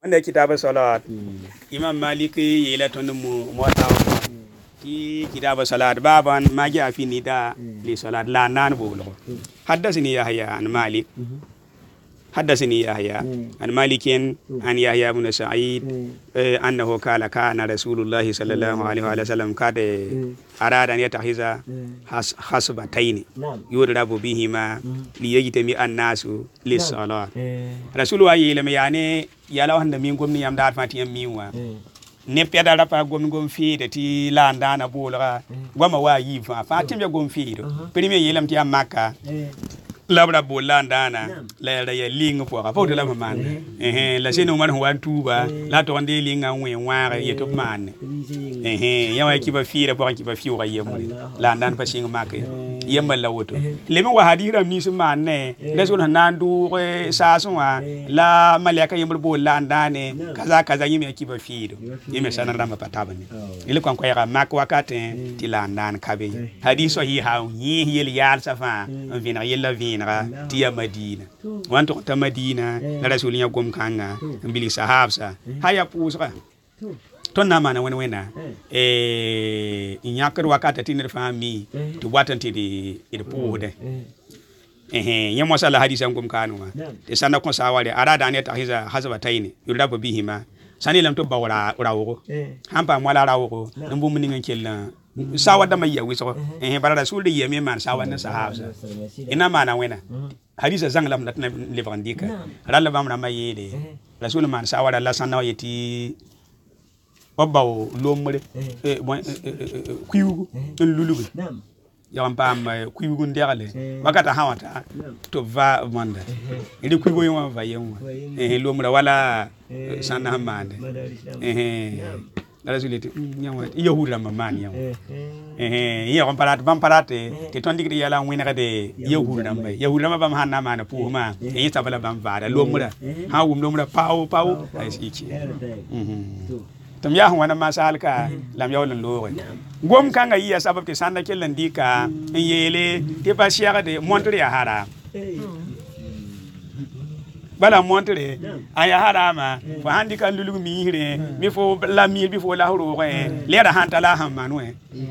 wanda kitaba salat imam maliki yela ton mo taw ki kitaba salat baban magi afini da li salat la nan bolo حدثني يحيى عن مالك حدثني يحيى عن مالك عن يحيى بن سعيد أنه قال كان رسول الله صلى الله عليه وسلم قد أراد أن يتخذ خصبتين يضرب بهما ليجتمع الناس للصلاة رسول الله يلم يعني يلا هند مينكم نيام دار فاتيم ميوا نبيا دار فا غوم في تي لاندانا بولغا وما وايفا فاتيم يا غوم في بريمي يلم تي مكة labra bolandana la ya linga po ka fo de la man la sino man huwa tuba la to ande linga nwe ware yeto man ya wa kiba fira po kiba fiwa yemu la ndan pa singa make yemba la woto le mi wa hadira ni su man ne la so nan du sa so wa la malaka yemba bolandane kaza yemi kiba firo yemi sana ramba pataba ni ile kwa kwa ya mak wakate ti la ndan kabe hadiso hi ha yi yel yal safa vina yella vina tiya Madina wanto ta Madina la rasulinya gom kanga mbili sahabsa haya pusra ton na mana wena inyakar wakata tinir fami to watanti di pude nyamo sala hadisa gom kanwa te sana ko sawale arada ne ta hazaba taini yulaba bihima sani lam to bawra rawo hampa mwala rawo mbu muninga kella sawa da mai yawi so bara rasul de yemi man sawa na sahabsa ina mana wena hadisa zang lam natna levandika ralla bam na mayede rasul man sawa da la sanna yeti obaw lomre kuyugu lulugu yam pam kuyugu ndegale wakata hawata to va manda ili kuyugu yoma va yema lomra wala sanna mande rasulete nyama yahuda mamani yaw ya komparate te tondigri yala wina de yahuda ma bam hanna mana puuma tabala bam vada lomra ha lomra pau ay siki tam ya wana masalka lam yawlan lowe gom kanga iya sabab te sanda kellan dika yele te pasiya de montre ya hara bala montre aya harama fa handi kan lulu mi hire mi fo la mi bi fo la horo le da hanta la hammanwe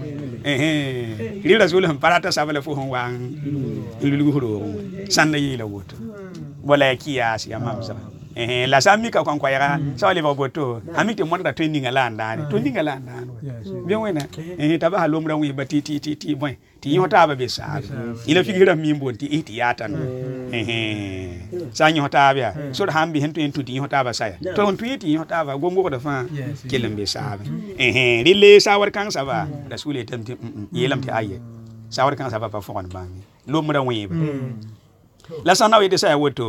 ri rasul ham parata sabala fo hon wan lulu horo sanda yila woto wala kiyas ya mamsa la sami ka kwa yara sawale ba boto amite montra training ala ndani to ninga la ndani bien wena taba halomra wi batiti boy ti yota ba be sa ila figira mi mbonti iti yata no sa nyota ba so hambi hento entu ti yota ba saya to ontu iti yota ba gongo da fa kelembe sa rile sawar kan sa ba rasule tamti yelam ti aye sawar kan sa ba fo on ba lomra wi ba la sana wi de sa woto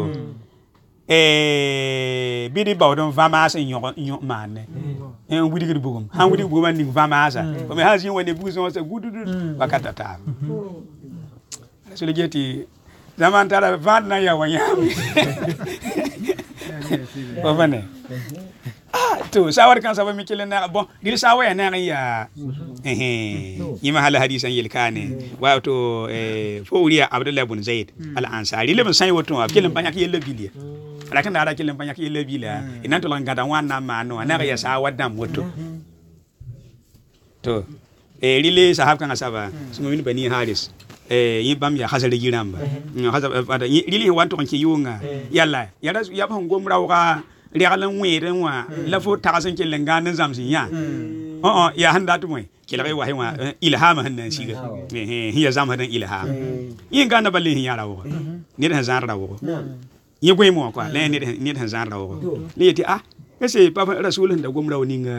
bidi bawdon vamasa nyo manne wudi bugum han wudi bugum ni vamasa ko me hazi woni buzon sa gududu bakata ta so le jeti zaman tara van na ya wanyam o vane to sawar kan sabe mi kelen na bon dil sawa ya na ya yima hala hadisan yelkane wa to fo uriya abdullah ibn zaid al ansari le ban sai wato kelen banyak yelle biliya lakin da kelen banyak yelle bila inan to lan gada wana mano na ya sawa dam wato to rile sahab kan asaba sumo min bani haris yibam ya hasale giramba hasaba rile wanto kan ki yunga yalla ya ban gomrawa rialan weren wa la fo tagasan ke lengan zamsin ya ya handa to moy ke la wa hewa ilham hannan shiga hiya zam hadan ilham yin gana balle hin yara wo ni da zan rawo yi gwe mo kwa le ni da zan rawo le yati kase papa rasulun da gomra woni nga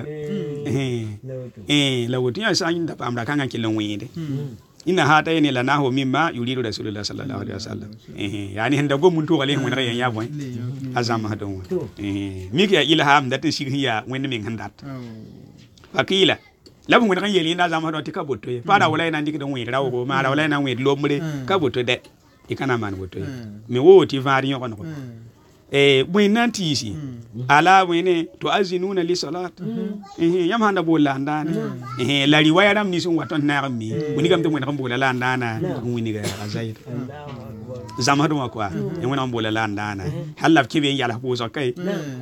la woti ya san da pamra kan ke lan wede ina hata ne la nahu mimma yuridu rasulullah sallallahu alaihi wasallam yani handa gomun to gale mun rayan ya boy azam hadon mi ke ilham da tin shi ya wani min handat fakila labu mun kan yeli na zam hadon tika botto fara wala ina ndik don wi rawo ma ra wala ina wi lomre ka botto de ikana man botto mi woti vari yon ko وين تيسي على وين تؤذنون للصلاة يام هذا بولا عندنا لا رواية رام نيسون واتون نعمي وني كم تمون كم بولا عندنا وني غير أزايد زمان ما كوا يوم نام بولا عندنا هلا كيفين يلا بوزا كاي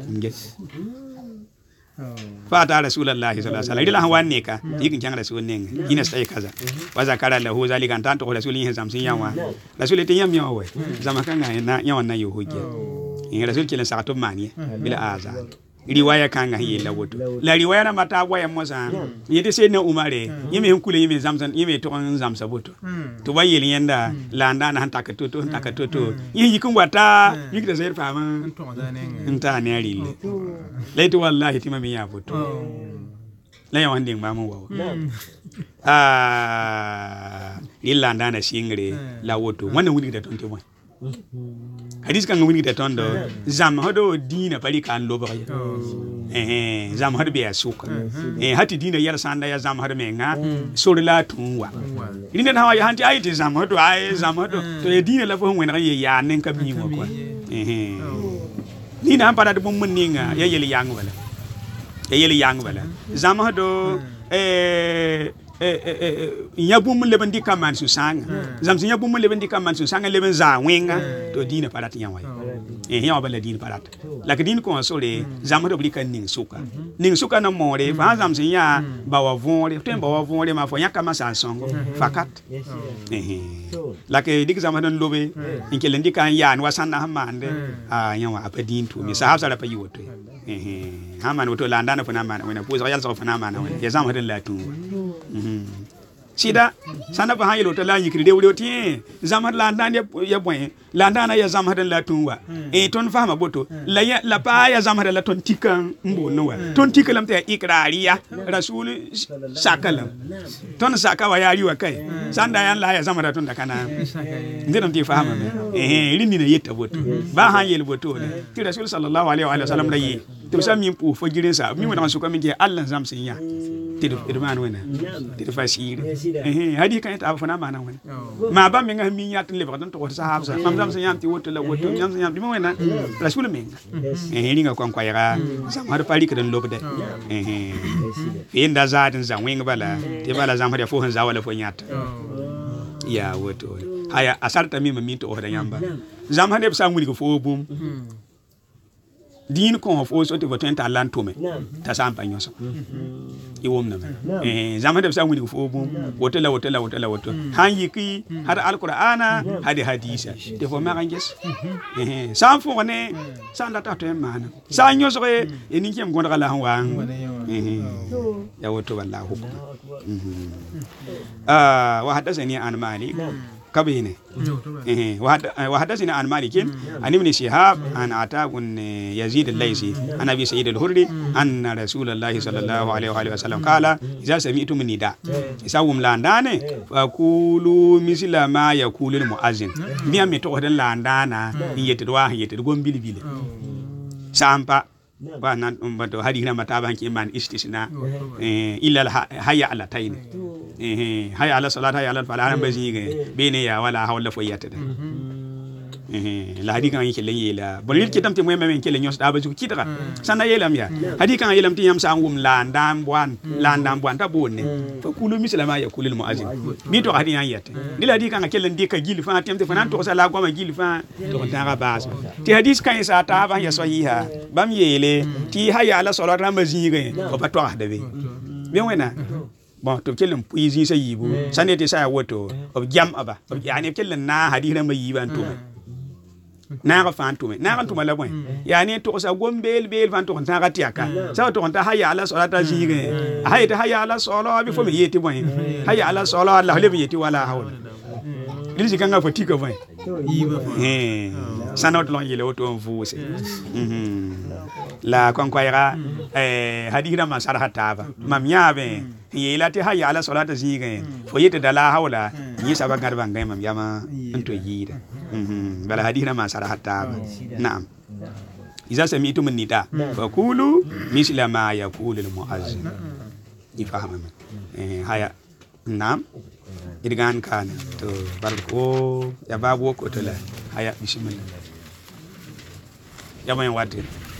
فأتى رسول الله صلى الله عليه وسلم إلى هوانيكا يمكن كان رسول نين ينستأي كذا وذكر له ذلك أن تنتقل رسول الله زمسين يوم رسول تيام يوم زمان كان يوم نيوهوجي رسول كلا ساعتهم مانية بلا آزار riwaya kanga hiye la woto la riwaya na mata waya mosa yete se na umare yeme hunkule yeme zamzan yeme to zamsa boto to bayel yenda la ndana hanta ka toto yi kun wata yikda sayar fama nta ne rille laito wallahi timami ya boto la ya wandin ba mu wawo illa ndana shingre la woto wannan wuni da tonte wani hadis kan ngoni de tondo zam hodo dina pali kan lo ba zam hodo be asuka hati dina yar sanda ya zam hodo menga sorla tunwa ina hawa ya hanti ayiti zam hodo to ya dina la fo ngena ya nen ka bi mo ko ni na para de bum ninga ya yeli yang wala zam hodo yabum leben di kaman su sanga zamsin yabum leben di kaman su sanga leben za wenga to dina parat yan way ya bala dina parat la ke din ko sore zam do blika ning suka na more fa zamsin ya bawa vonre to bawa vonre ma fo yakama sa songo fakat la ke dik zam don lobe inke lendi kan ya wa sanna hamande yan wa apadin to mi sahab sara pa yiwoto haman woto la ndana fana mana wena puza yal so fana mana wena ya zam hadin la tu sida sana ba haylo to la yikri de wodi zamar la ndane ya boy la ndana ya zamar la tunwa ton fama boto la pa ya zamar la ton tikan mbo nowa ton tikalam te ikrariya rasul sakalam ton sakawa ya riwa kai sanda yan la ya zamar ton da kana ndin ti fama rini na yetta boto ba hayel boto ti rasul sallallahu alaihi wa sallam la yi to sami pu fo girin sa mi wona suka minge Allah zamsin ya ti man wena ti fasir hadi kan ta fana mana wena ma ba mi nga mi nyat le ba don to sahab sa mam zamsin yam ti woto la woto nyam yam di mo wena rasul menga ringa kon kwayra zam har pali kan lobde inda zatin zam wenga bala ti bala zam har fo han zawala fo nyat ya woto haya asarta mi mi to hoda yamba zam har ne sa ngudi ko fo bum din ko of also to vote enta land to me ta sampa nyoso iwom na zama da sa wuni fo bum woto han yiki har alqur'ana hadi hadisa te fo ma ganges sam fo ne san la ta to mana sa nyoso e ni kem gonda la wa ya woto wallahu wa hadathani an malik كبينه وحدثنا عن مالك عن ابن شهاب عن عطاء بن يزيد الليثي عن ابي سعيد الخدري ان رسول الله صلى الله عليه واله وسلم قال اذا سمعتم النداء يساوم لاندانه فقولوا مثل ما يقول المؤذن بيان متوخدن لاندانا يتدوا يتدغون بيلبيل سامبا وانا مبدو هذه ما تابعن كمان استثناء الا هيا على تاين هيا على صلاه هيا على الفلاح بزي بين يا ولا حول فيات la hadi kan yake yela bolil kitam te moyema kele nyos da bazu kitra sana yelam ya hadi kan yelam ti yam sa ngum landam bwan ta bonne fa kulu mislama ya kulil muazin mi to hadi yan yete dila hadi kan kele ndika gil fa tem te fanan to sa la goma gil fa to ta ga bas ti hadis kan sa ta ba ya sahiha bam yele ti haya ala salat ramazige ko ba to da be bien wena bon to kelen puizi sa yibu sanete sa woto ob jam aba yani kelen na hadi ramayiban to na ga fan tume na ga tuma la boy yani to sa gombel bel fan to ta ga tiaka sa to ta haya ala salata jige hayta haya ala sala bi fo me yeti boy haya ala sala Allah le yeti wala hawla dilji kanga fatika boy sanot lon yele auto vuse la konkoira hadira ma sarha taba mam yabe yela te haya ala salata jige fo yeti dala hawla yi saba garba ngai mam yama into yida بلا هدينا ما صار حتى نعم إذا سمعتم النداء فقولوا مثل ما يقول المؤذن يفهم هيا نعم إذا كان تو باركو يا بابو كتلا هيا بسم الله ya mai watir